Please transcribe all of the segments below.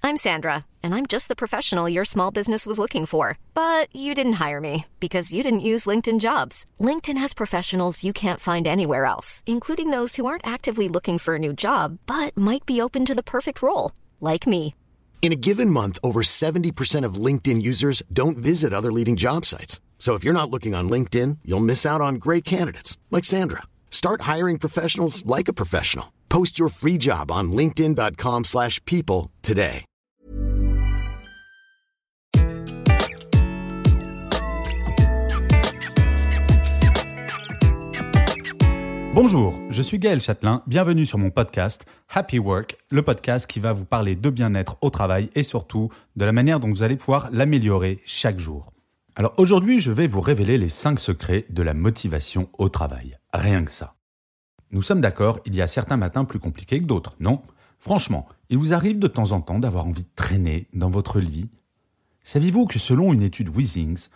I'm Sandra, and I'm just the professional your small business was looking for. But you didn't hire me because you didn't use LinkedIn Jobs. LinkedIn has professionals you can't find anywhere else, including those who aren't actively looking for a new job, but might be open to the perfect role, like me. In a given month, over 70% of LinkedIn users don't visit other leading job sites. So if you're not looking on LinkedIn, you'll miss out on great candidates like Sandra. Start hiring professionals like a professional. Post your free job on linkedin.com/people today. Bonjour, je suis Gaël Châtelain, bienvenue sur mon podcast Happy Work, le podcast qui va vous parler de bien-être au travail et surtout de la manière dont vous allez pouvoir l'améliorer chaque jour. Alors aujourd'hui, je vais vous révéler les 5 secrets de la motivation au travail. Rien que ça. Nous sommes d'accord, il y a certains matins plus compliqués que d'autres, non ? Franchement, il vous arrive de temps en temps d'avoir envie de traîner dans votre lit ? Saviez-vous que selon une étude Withings,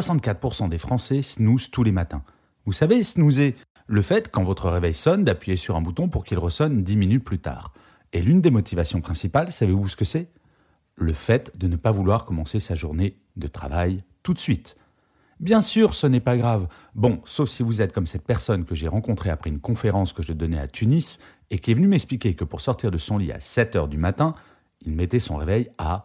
64% des Français snoozent tous les matins ? Vous savez, snoozer, le fait, quand votre réveil sonne, d'appuyer sur un bouton pour qu'il ressonne 10 minutes plus tard. Et l'une des motivations principales, savez-vous ce que c'est ? Le fait de ne pas vouloir commencer sa journée de travail tout de suite. Bien sûr, ce n'est pas grave. Bon, sauf si vous êtes comme cette personne que j'ai rencontrée après une conférence que je donnais à Tunis et qui est venue m'expliquer que pour sortir de son lit à 7h du matin, il mettait son réveil à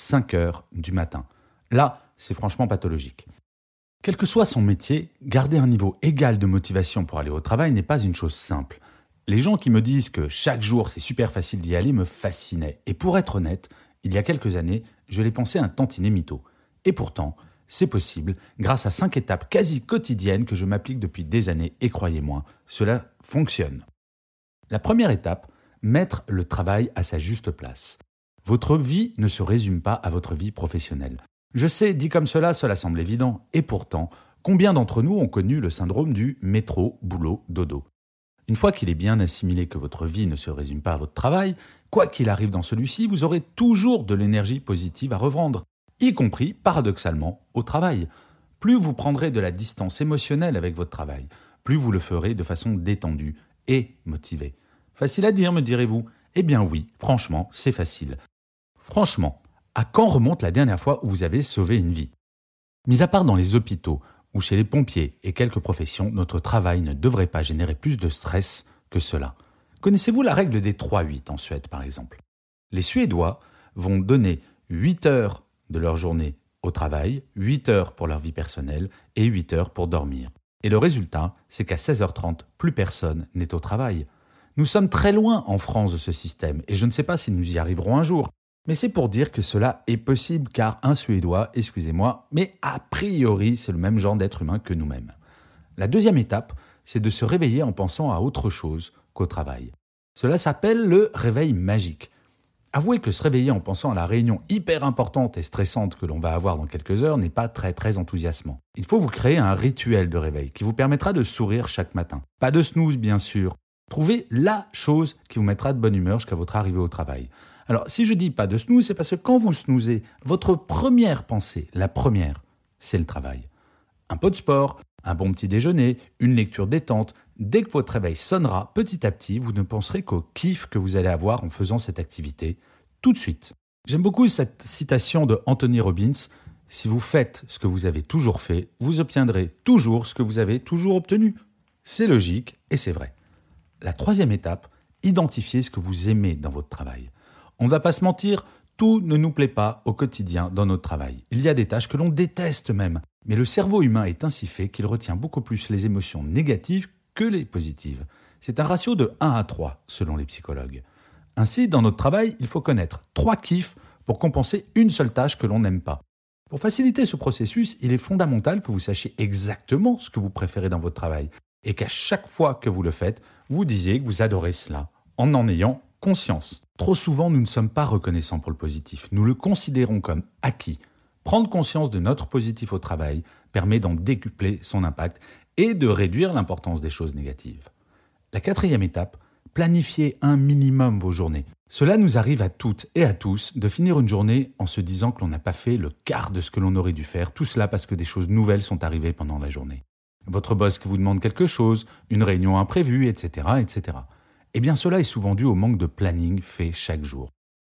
5h du matin. Là, c'est franchement pathologique. Quel que soit son métier, garder un niveau égal de motivation pour aller au travail n'est pas une chose simple. Les gens qui me disent que chaque jour c'est super facile d'y aller me fascinaient. Et pour être honnête, il y a quelques années, je les pensais un tantinet mytho. Et pourtant, c'est possible grâce à 5 étapes quasi quotidiennes que je m'applique depuis des années et croyez-moi, cela fonctionne. La première étape, mettre le travail à sa juste place. Votre vie ne se résume pas à votre vie professionnelle. Je sais, dit comme cela semble évident. Et pourtant, combien d'entre nous ont connu le syndrome du métro, boulot, dodo ? Une fois qu'il est bien assimilé que votre vie ne se résume pas à votre travail, quoi qu'il arrive dans celui-ci, vous aurez toujours de l'énergie positive à revendre, y compris, paradoxalement, au travail. Plus vous prendrez de la distance émotionnelle avec votre travail, plus vous le ferez de façon détendue et motivée. Facile à dire, me direz-vous ? Eh bien oui, franchement, c'est facile. Franchement, à quand remonte la dernière fois où vous avez sauvé une vie ? Mis à part dans les hôpitaux ou chez les pompiers et quelques professions, notre travail ne devrait pas générer plus de stress que cela. Connaissez-vous la règle des 3-8 en Suède, par exemple ? Les Suédois vont donner 8 heures de leur journée au travail, 8 heures pour leur vie personnelle et 8 heures pour dormir. Et le résultat, c'est qu'à 16h30, plus personne n'est au travail. Nous sommes très loin en France de ce système et je ne sais pas si nous y arriverons un jour. Mais c'est pour dire que cela est possible car un Suédois, excusez-moi, mais a priori c'est le même genre d'être humain que nous-mêmes. La deuxième étape, c'est de se réveiller en pensant à autre chose qu'au travail. Cela s'appelle le réveil magique. Avouez que se réveiller en pensant à la réunion hyper importante et stressante que l'on va avoir dans quelques heures n'est pas très enthousiasmant. Il faut vous créer un rituel de réveil qui vous permettra de sourire chaque matin. Pas de snooze bien sûr. Trouvez la chose qui vous mettra de bonne humeur jusqu'à votre arrivée au travail. Alors, si je dis pas de snooze, c'est parce que quand vous snoozez, votre première pensée, la première, c'est le travail. Un peu de sport, un bon petit déjeuner, une lecture détente. Dès que votre réveil sonnera, petit à petit, vous ne penserez qu'au kiff que vous allez avoir en faisant cette activité tout de suite. J'aime beaucoup cette citation de Anthony Robbins. Si vous faites ce que vous avez toujours fait, vous obtiendrez toujours ce que vous avez toujours obtenu. C'est logique et c'est vrai. La troisième étape, identifiez ce que vous aimez dans votre travail. On ne va pas se mentir, tout ne nous plaît pas au quotidien dans notre travail. Il y a des tâches que l'on déteste même. Mais le cerveau humain est ainsi fait qu'il retient beaucoup plus les émotions négatives que les positives. C'est un ratio de 1 à 3 selon les psychologues. Ainsi, dans notre travail, il faut connaître 3 kiffs pour compenser une seule tâche que l'on n'aime pas. Pour faciliter ce processus, il est fondamental que vous sachiez exactement ce que vous préférez dans votre travail et qu'à chaque fois que vous le faites, vous disiez que vous adorez cela en ayant conscience. Trop souvent, nous ne sommes pas reconnaissants pour le positif. Nous le considérons comme acquis. Prendre conscience de notre positif au travail permet d'en décupler son impact et de réduire l'importance des choses négatives. La 4e étape, planifiez un minimum vos journées. Cela nous arrive à toutes et à tous de finir une journée en se disant que l'on n'a pas fait le quart de ce que l'on aurait dû faire, tout cela parce que des choses nouvelles sont arrivées pendant la journée. Votre boss qui vous demande quelque chose, une réunion imprévue, etc., etc. Eh bien, cela est souvent dû au manque de planning fait chaque jour.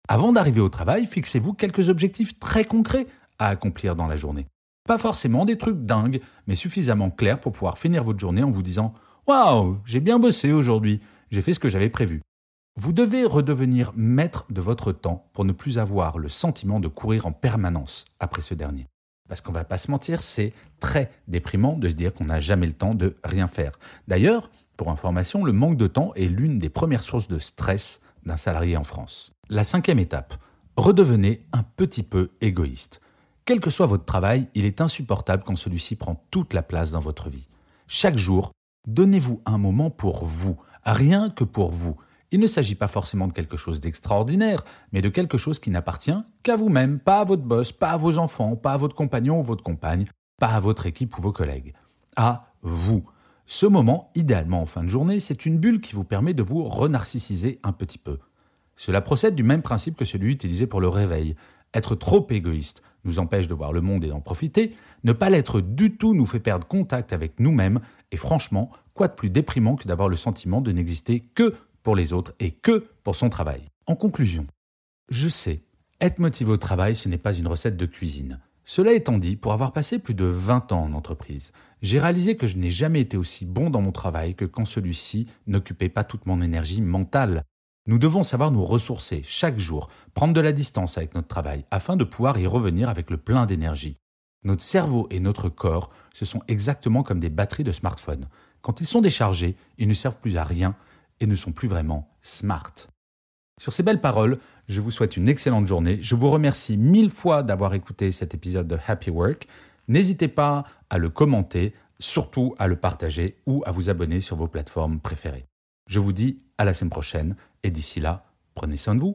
Avant d'arriver au travail, fixez-vous quelques objectifs très concrets à accomplir dans la journée. Pas forcément des trucs dingues, mais suffisamment clairs pour pouvoir finir votre journée en vous disant « Waouh, j'ai bien bossé aujourd'hui, j'ai fait ce que j'avais prévu ». Vous devez redevenir maître de votre temps pour ne plus avoir le sentiment de courir en permanence après ce dernier. Parce qu'on ne va pas se mentir, c'est très déprimant de se dire qu'on n'a jamais le temps de rien faire. D'ailleurs, pour information, le manque de temps est l'une des premières sources de stress d'un salarié en France. La 5e étape, redevenez un petit peu égoïste. Quel que soit votre travail, il est insupportable quand celui-ci prend toute la place dans votre vie. Chaque jour, donnez-vous un moment pour vous, rien que pour vous. Il ne s'agit pas forcément de quelque chose d'extraordinaire, mais de quelque chose qui n'appartient qu'à vous-même, pas à votre boss, pas à vos enfants, pas à votre compagnon ou votre compagne, pas à votre équipe ou vos collègues. À vous. Ce moment, idéalement en fin de journée, c'est une bulle qui vous permet de vous renarcissiser un petit peu. Cela procède du même principe que celui utilisé pour le réveil. Être trop égoïste nous empêche de voir le monde et d'en profiter. Ne pas l'être du tout nous fait perdre contact avec nous-mêmes. Et franchement, quoi de plus déprimant que d'avoir le sentiment de n'exister que pour les autres et que pour son travail. En conclusion, je sais, être motivé au travail, ce n'est pas une recette de cuisine. Cela étant dit, pour avoir passé plus de 20 ans en entreprise, j'ai réalisé que je n'ai jamais été aussi bon dans mon travail que quand celui-ci n'occupait pas toute mon énergie mentale. Nous devons savoir nous ressourcer chaque jour, prendre de la distance avec notre travail afin de pouvoir y revenir avec le plein d'énergie. Notre cerveau et notre corps, ce sont exactement comme des batteries de smartphone. Quand ils sont déchargés, ils ne servent plus à rien et ne sont plus vraiment smart. Sur ces belles paroles, je vous souhaite une excellente journée. Je vous remercie 1000 fois d'avoir écouté cet épisode de Happy Work. N'hésitez pas à le commenter, surtout à le partager ou à vous abonner sur vos plateformes préférées. Je vous dis à la semaine prochaine et d'ici là, prenez soin de vous.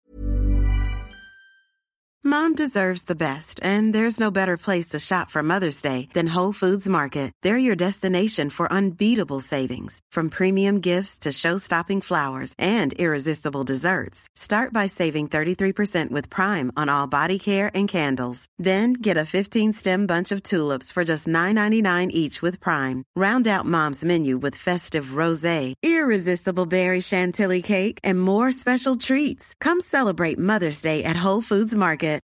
Mom deserves the best, and there's no better place to shop for Mother's Day than Whole Foods Market. They're your destination for unbeatable savings, from premium gifts to show-stopping flowers and irresistible desserts. Start by saving 33% with Prime on all body care and candles. Then get a 15-stem bunch of tulips for just $9.99 each with Prime. Round out Mom's menu with festive rosé, irresistible berry chantilly cake, and more special treats. Come celebrate Mother's Day at Whole Foods Market.